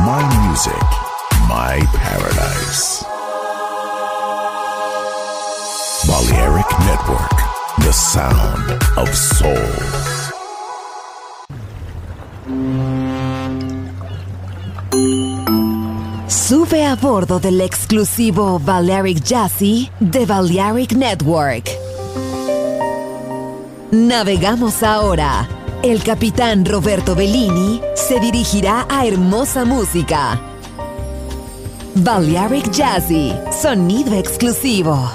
My music, my paradise. Balearic Network, the sound of soul. Sube a bordo del exclusivo Balearic Jazzy de Balearic Network. Navegamos ahora. El capitán Roberto Bellini se dirigirá a hermosa música. Balearic Jazzy, sonido exclusivo.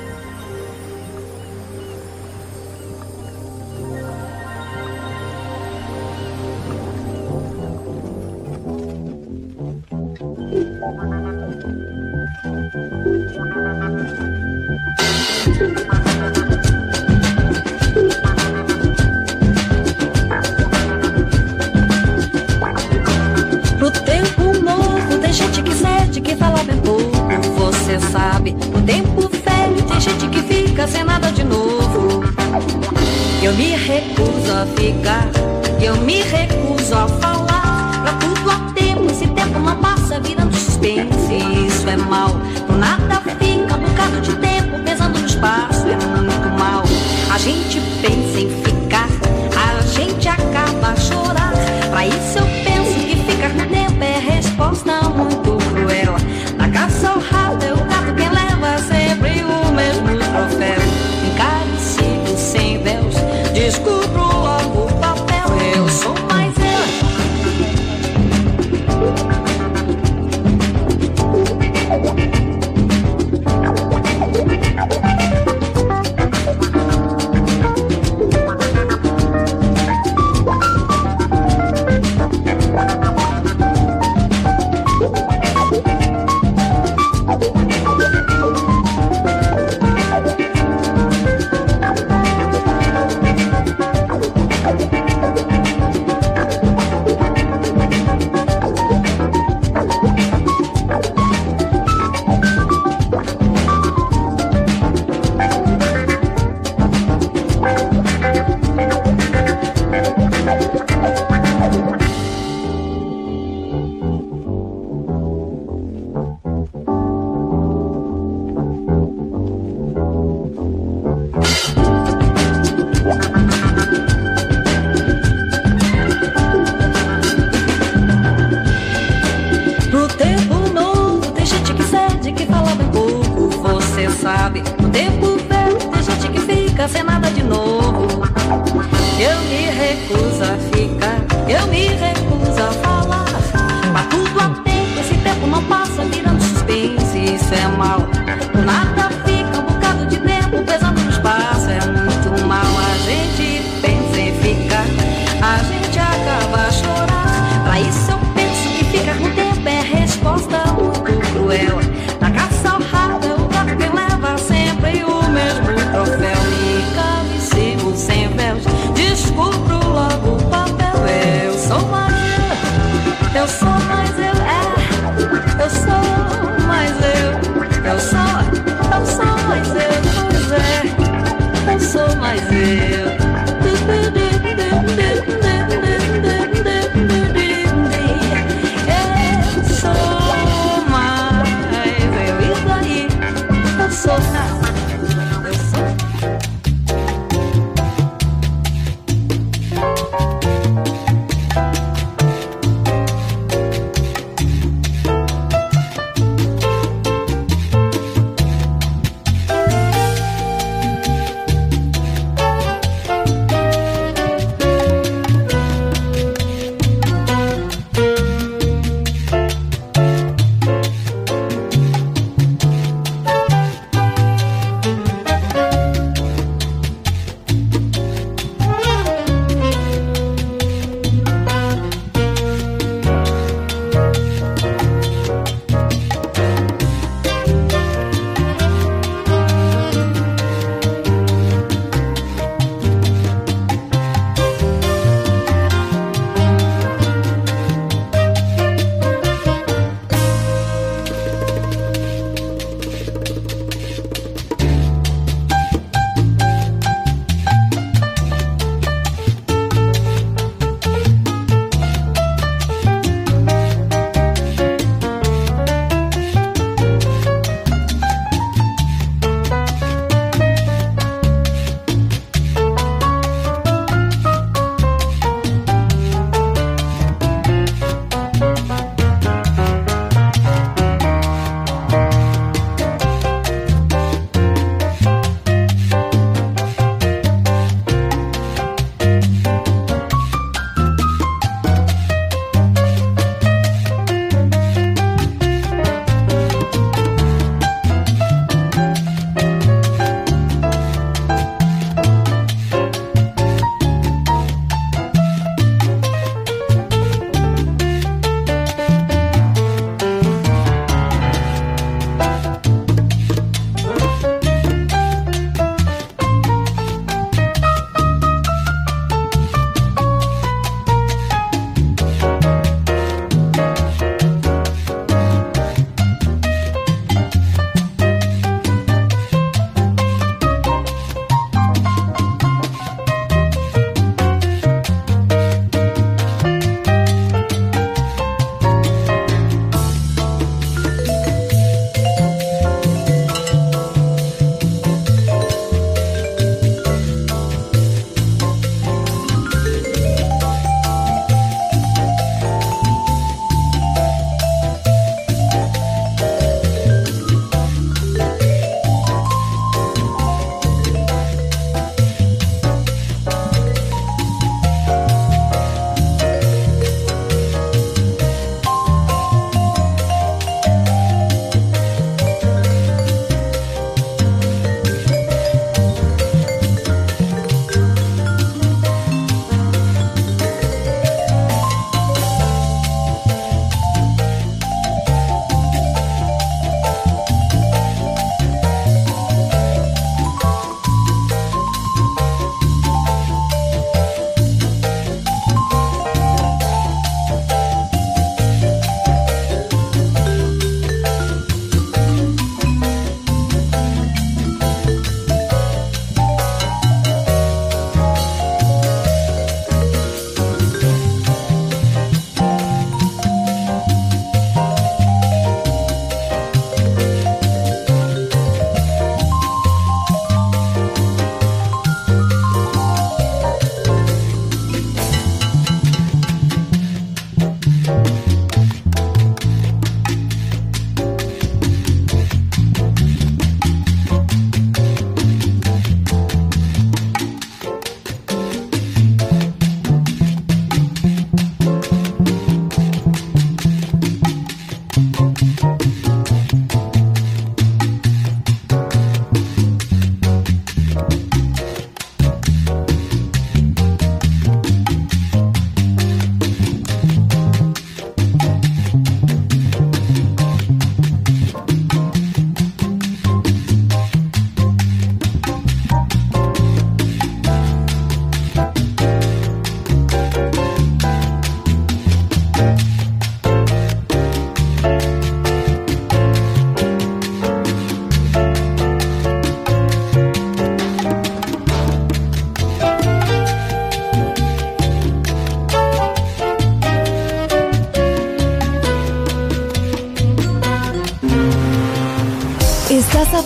Pro tempo novo tem gente que cede, que fala bem pouco, você sabe. No tempo velho tem gente que fica sem nada de novo. Eu me recuso a ficar, eu me recuso a falar. Pra tudo há tempo, esse tempo não passa virando suspense. Isso é mal, por nada fica um bocado de tempo pesando no espaço. É muito mal, a gente pensa em ficar, a gente acaba a chorar. Pra isso eu penso que ficar no tempo é resposta muito cruel. Na caça ao rato é o gato quem leva sempre o mesmo troféu. Encarecido sem véus, descubro logo o papel. Eu sou mais eu. Pro tempo novo tem gente que cede, que fala bem pouco, você sabe. No tempo velho tem gente que fica sem nada de novo. Eu me recuso a ficar, eu me recuso a falar. Pra tudo há tempo, esse tempo não passa virando suspense. Isso é mal, por nada fica um bocado de tempo pesando no espaço. É muito mal, a gente pensa em ficar, a gente acaba a chorar. Pra isso eu penso que ficar no tempo é resposta muito cruel. Na caça ao rato é o gato que leva sempre o mesmo troféu. Me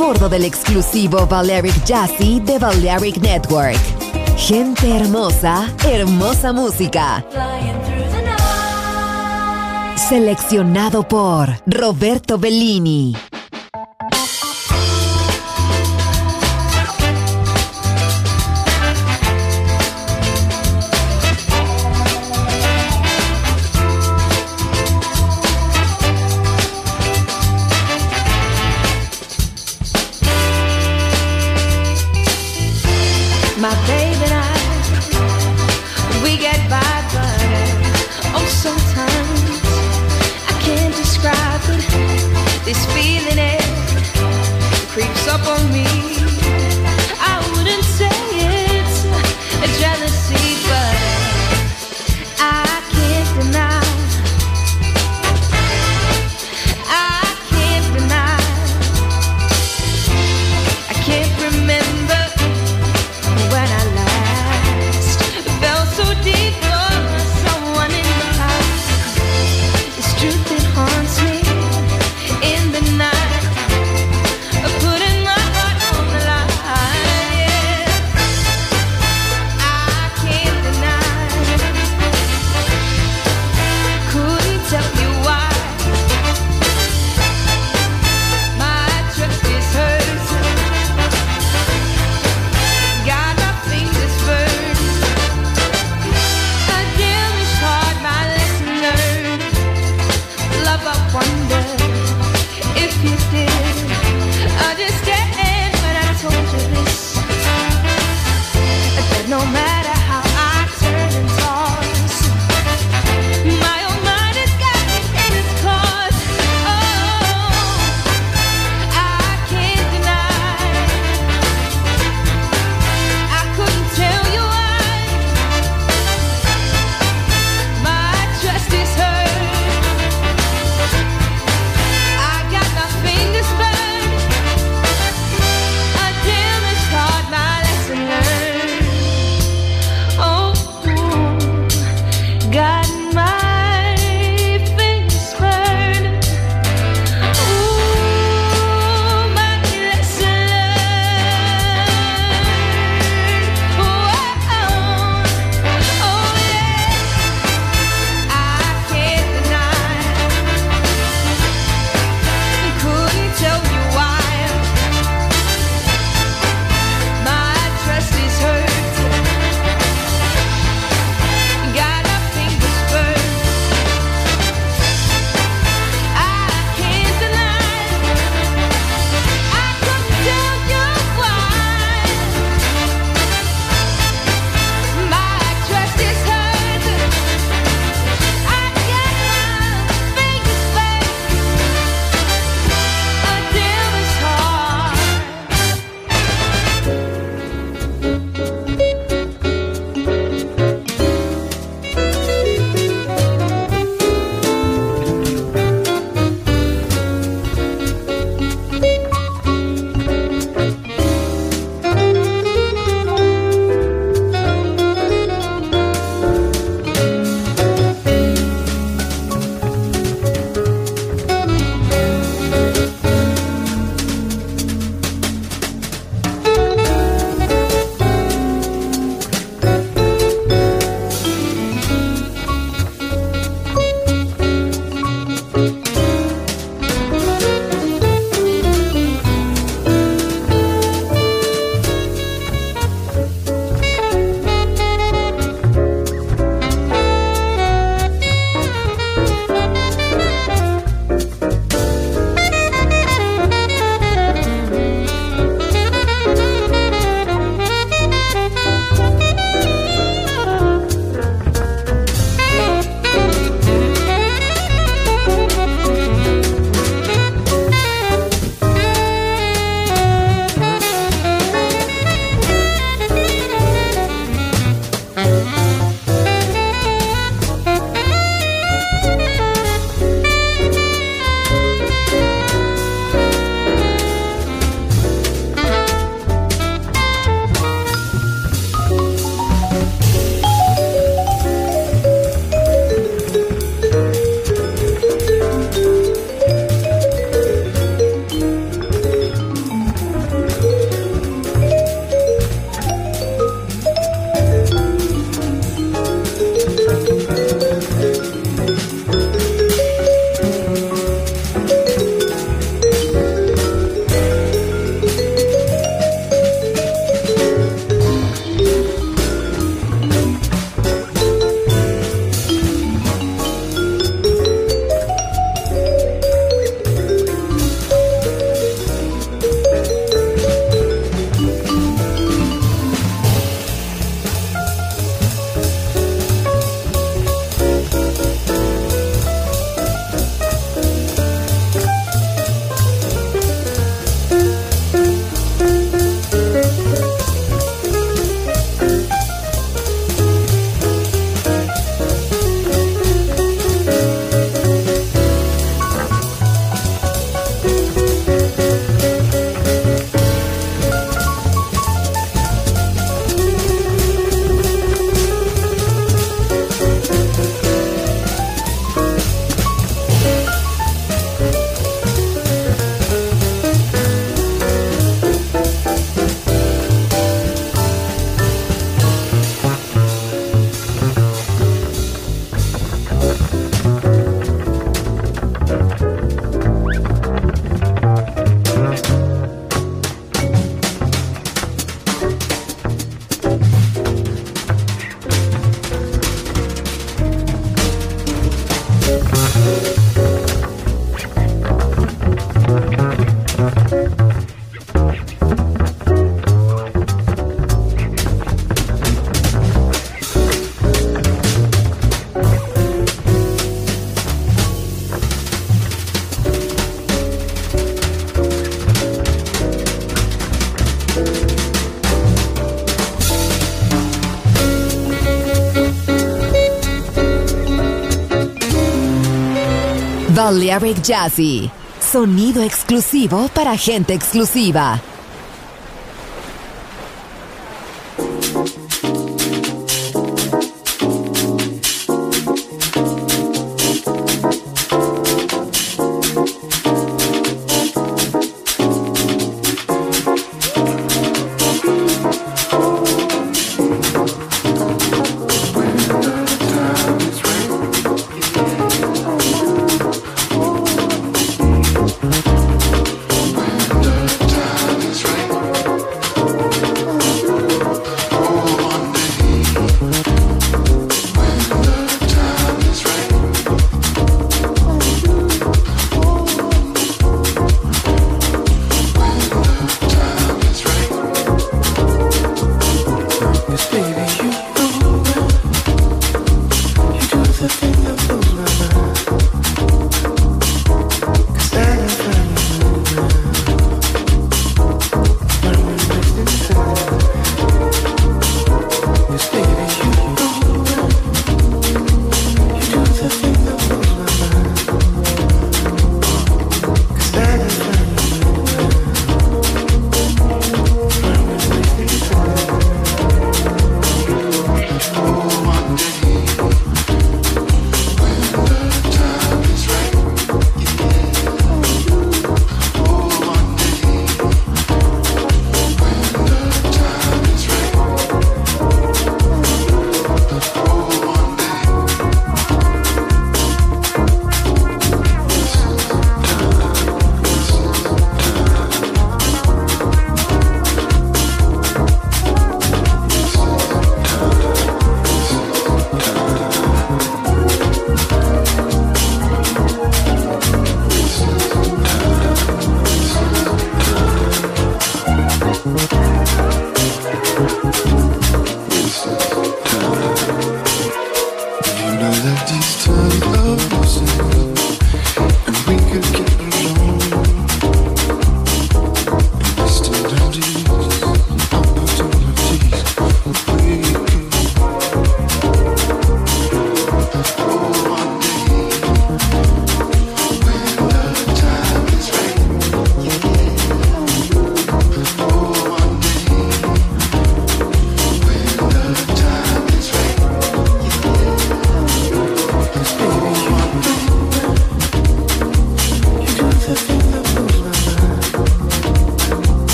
bordo del exclusivo Balearic Jazzy de Balearic Network. Gente hermosa, hermosa música. Seleccionado por Roberto Bellini. My baby and I, we get by, but oh, sometimes I can't describe it. This feeling Balearic Jazzy, sonido exclusivo para gente exclusiva.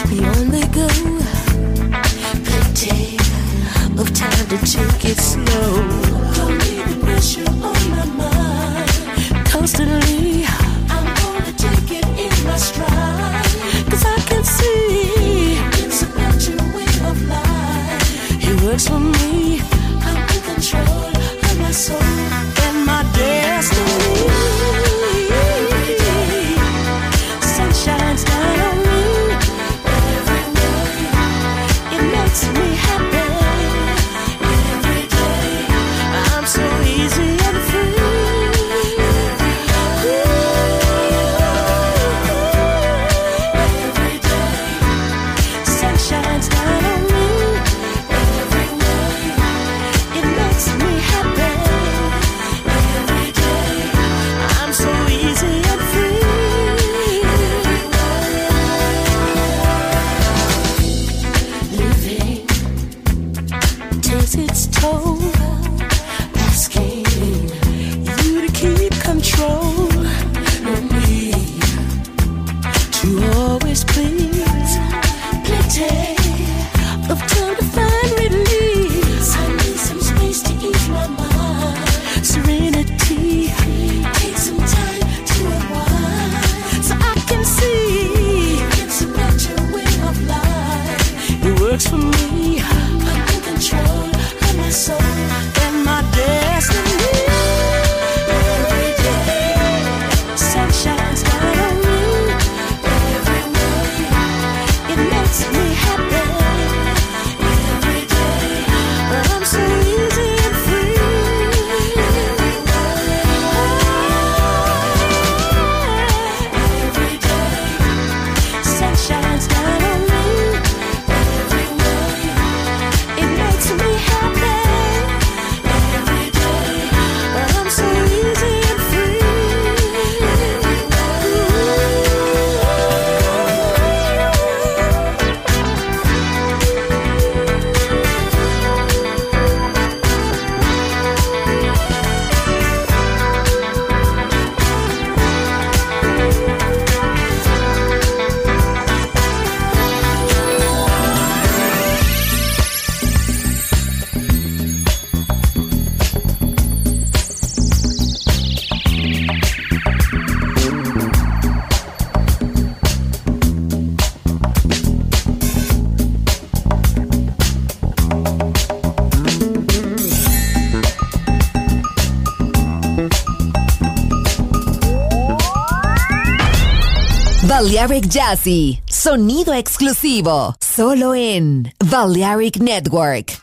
We only go plenty of time to take it slow. Don't need the pressure on my mind. Constantly, I'm gonna take it in my stride. 'Cause I can see it's about your way of life. It works for me. I'm in control of my soul and my destiny. Every day, sun shines down on me. Every day, it makes me happy. Every day, I'm so easy and free. Every day, sun shines down on me. Every day, it makes me happy. Every day, I'm so easy and free. Living takes its toll, asking you to keep control of me, to always please. Plenty of time to find release. I need some space to ease my mind. Serenity, take some time to unwind, so I can see it's about your way of life. It works for me. I'm in control of my soul and my destiny. Every day, sun shines down on me. Every day, it makes me happy. Every day, I'm so easy and free. Every day, sun shines down on me. Every day, it makes me happy. Every day, I'm so easy and free. Balearic Jazzy, sonido exclusivo, solo en Balearic Network.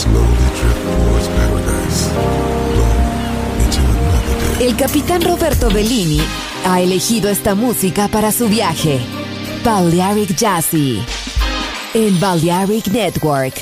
slowly drift towards paradise. Blown into another day. El capitán Roberto Bellini ha elegido esta música para su viaje. Balearic Jazzy en Balearic Network.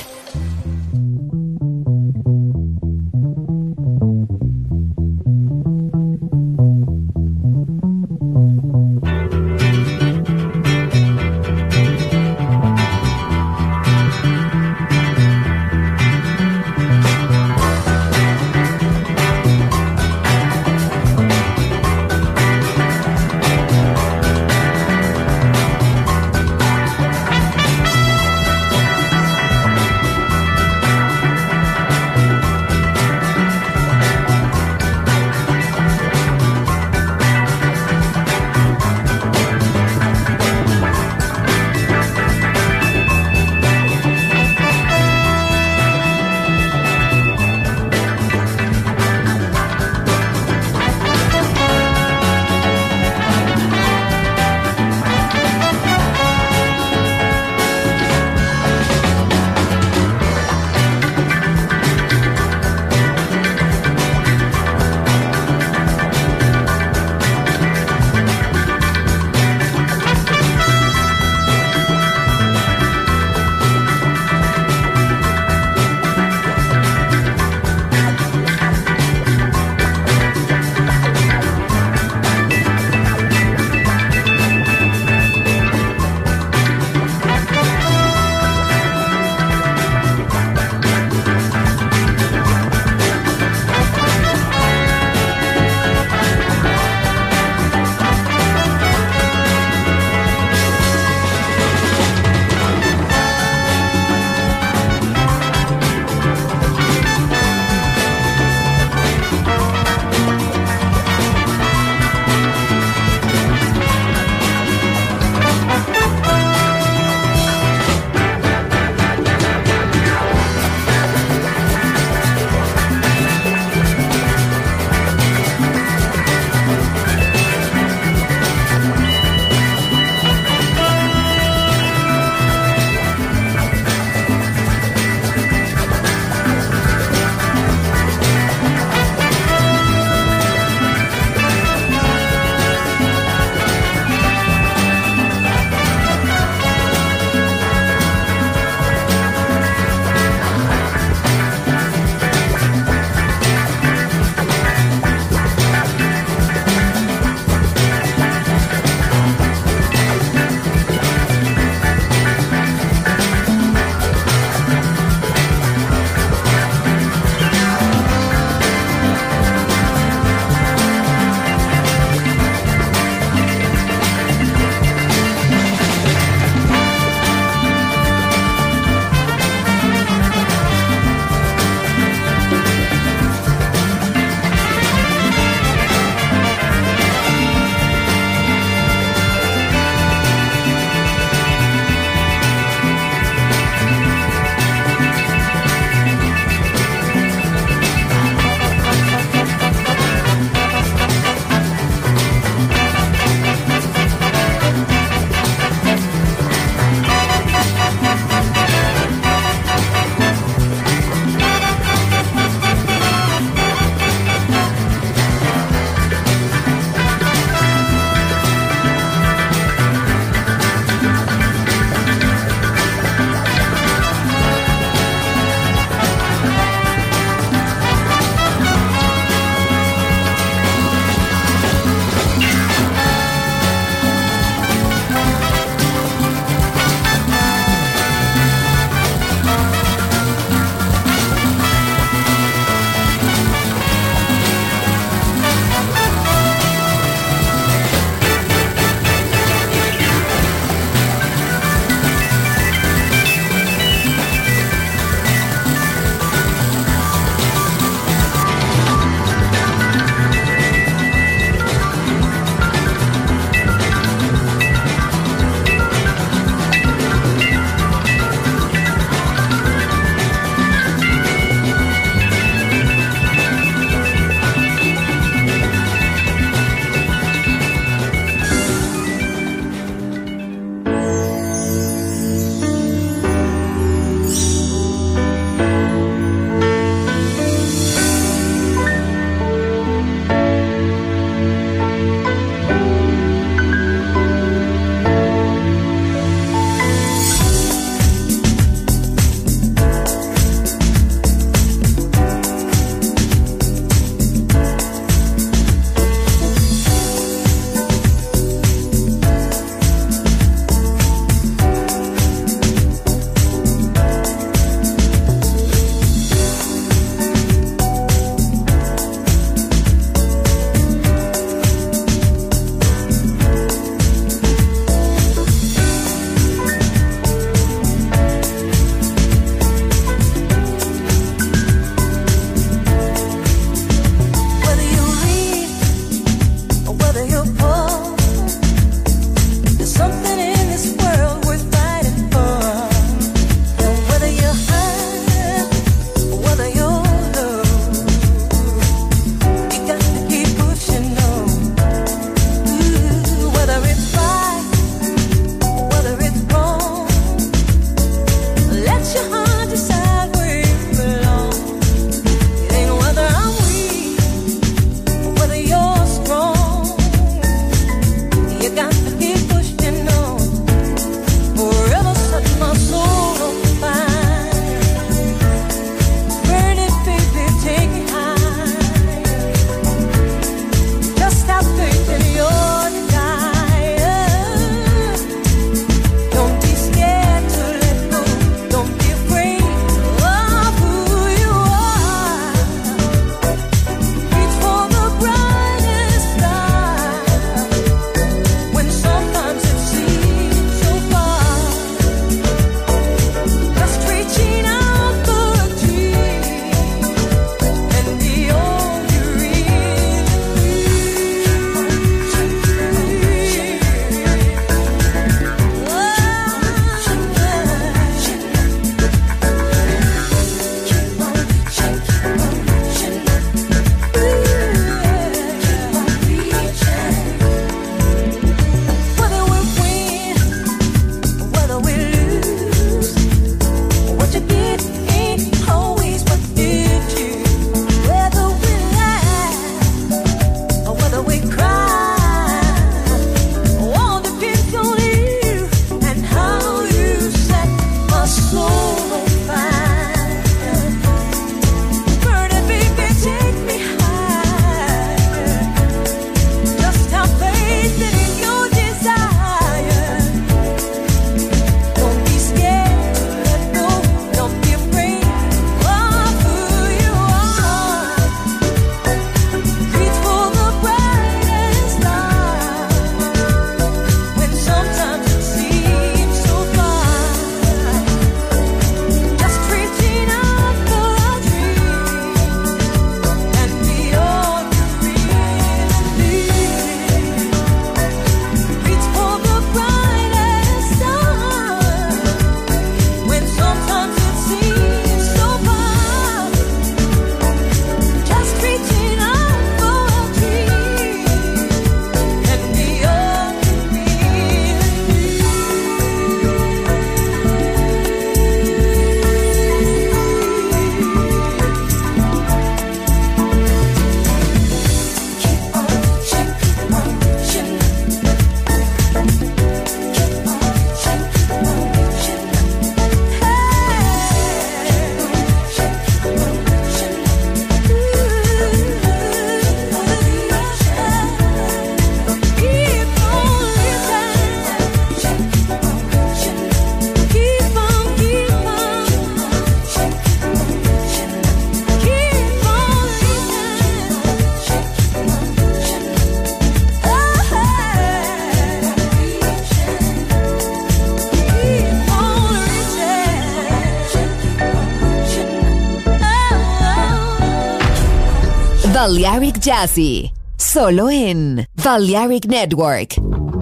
Balearic Jazzy, solo en Balearic Network.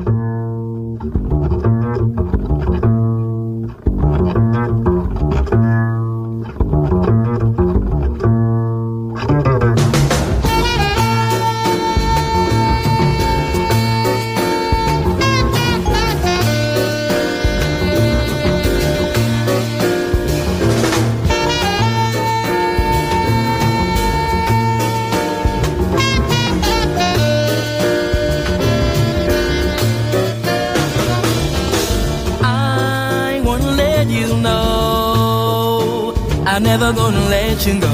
I'm never gonna let you go.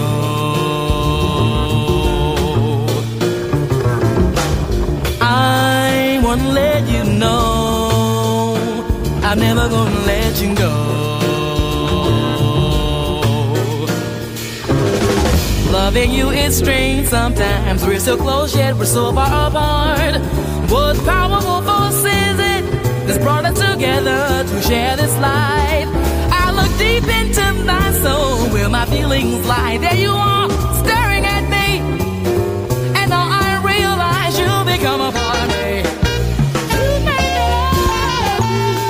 I wanna let you know I'm never gonna let you go. Loving you is strange sometimes. We're so close yet we're so far apart. What powerful force is it that's brought us together to share this life? I look deep into my soul where my feelings lie. There you are, staring at me, and now I realize you'll become a part of me. You made it all.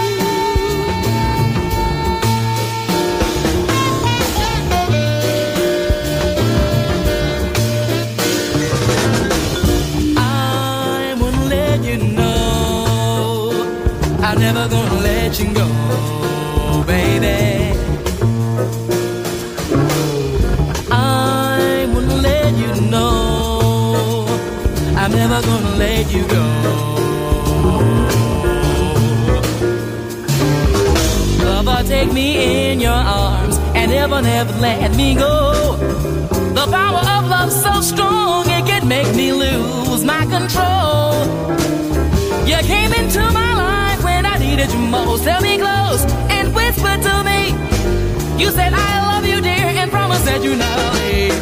I won't let you know I'm never gonna let you go, baby. I'm never gonna let you go. Lover, take me in your arms and never, never let me go. The power of love so strong it can make me lose my control. You came into my life when I needed you most. Held me close and whispered to me. You said I love you, dear, and promised that you'd never leave.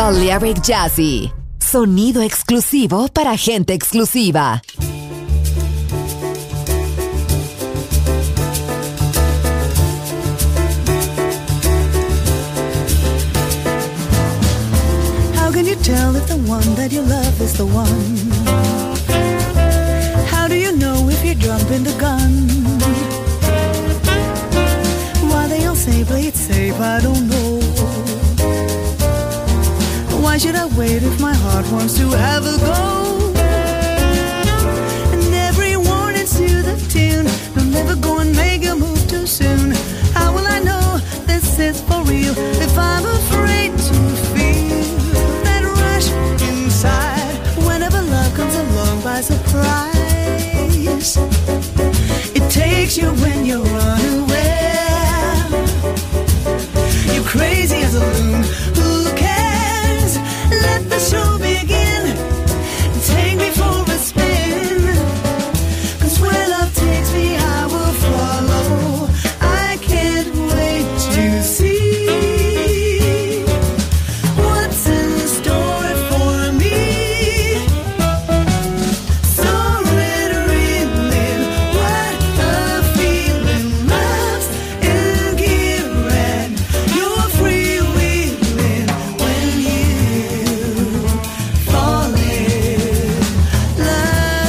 Balearic Jazzy. Sonido exclusivo para gente exclusiva. How can you tell if the one that you love is the one? How do you know if you're jumping the gun? Why they all say play it safe, I don't know. Why should I wait if my heart wants to have a go? And everyone is to the tune. Don't never go and make a move too soon. How will I know this is for real if I'm afraid to feel that rush inside whenever love comes along by surprise? It takes you when you're unaware. You're crazy as a loon. Who cares? Let the show begin. Take me for a spin. 'Cause where love takes me, I will follow. I can't wait to see what's in store for me. So let her relive what a feeling loves in gear, and you're free wheeling when you fall in love.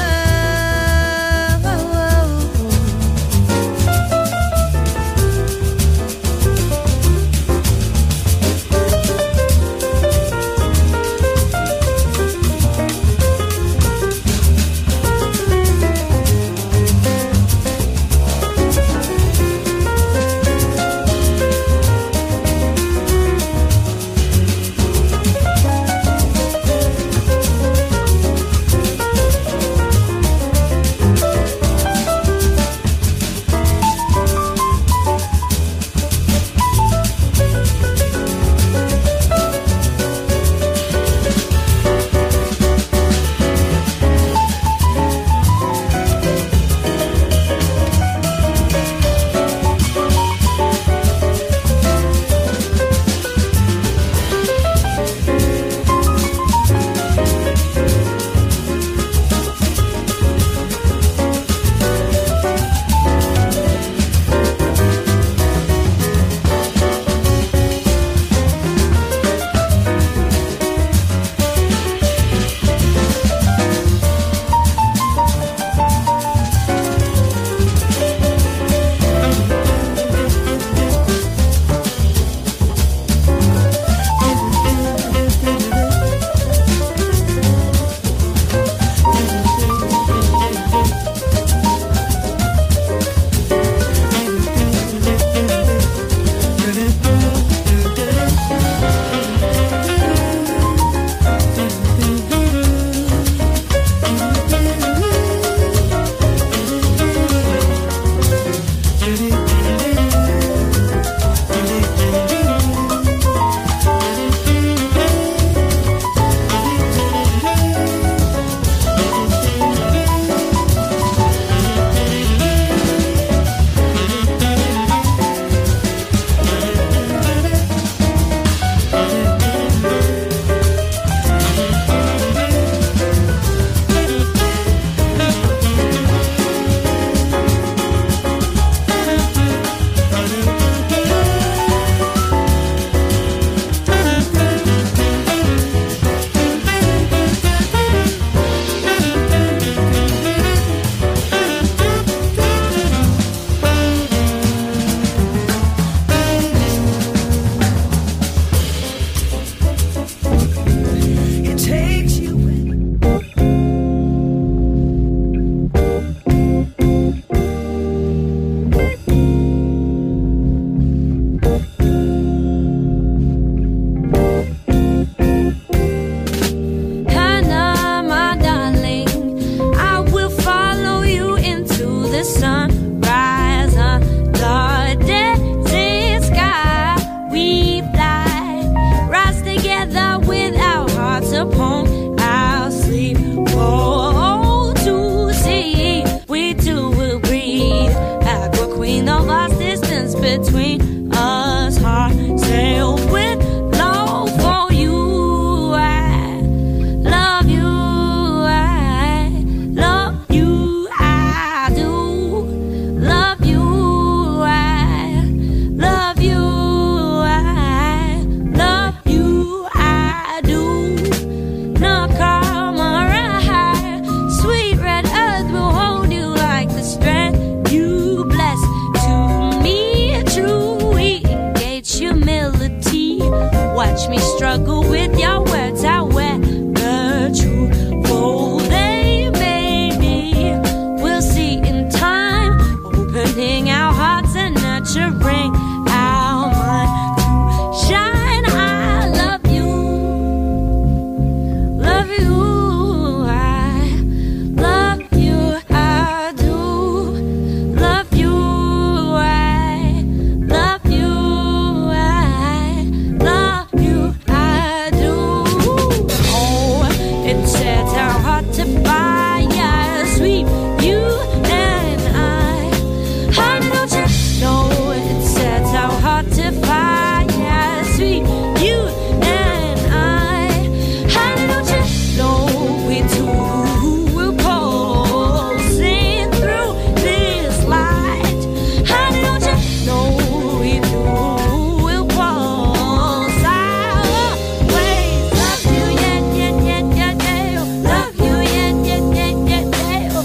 It takes you when Hannah, my darling, I will follow you into the sunrise under desert sky. We fly, rise together with our hearts upon our sleep. Oh, to see we two will breathe. Aqua queen of vast distance between us, heart sail with love for you. watch me struggle with your words. However truthful they may be, we'll see in time, opening our hearts and nurturing our mind to shine. I love you, love you, I love you, I do love you, I love you, I love you, I do. Oh, it sets our heart to fire, sweet you and I. Honey, don't you know it sets our heart to fire, sweet you and I. Honey, don't you know we two will pulsing through this light. Honey, don't you know we two will pulse. I'll always love you, yeah, yeah, yeah, yeah, yeah. Love you, yeah, yeah, yeah, yeah, yeah.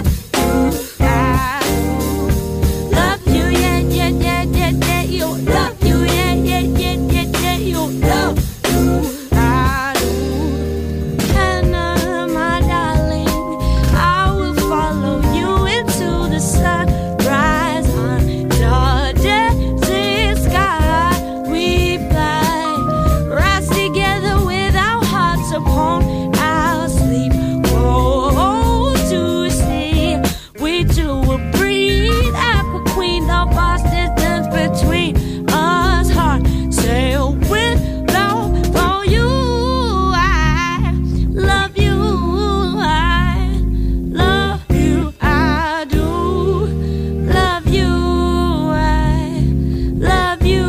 Love you, I love you, yeah, yeah, yeah, yeah, yeah. You love you, yeah, yeah, yeah, yeah, yeah. You love you, I do. Hannah, my darling, I will follow you into the sunrise under desert sky. We fly, rise together with our hearts upon our sleep. Go to sea, we two will breathe. Aqua Queen, the vast distance between us. Heart sail with love for you. I love you, I love you, I do love you, I love you,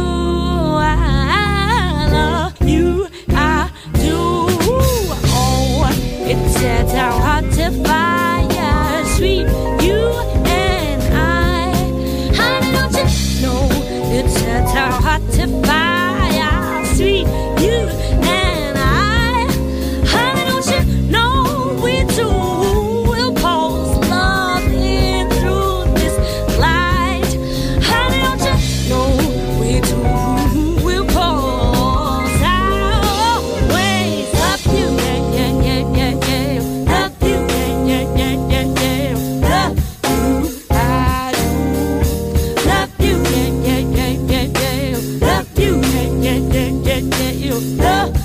I love you, I do. Oh, it sets our heart to fire, sweet you and I. Honey, don't you know it sets our heart to fire, sweet you and I. Honey, don't you know we two will pulse love in through this light. Honey, don't you know we two will pulse. I'll always love you, yeah, yeah, yeah, yeah, yeah. Love you, yeah, yeah, yeah, yeah, yeah. Love you, I do. Love you, yeah, yeah, yeah, yeah, yeah. Love you, yeah, yeah, yeah, yeah, yeah. You love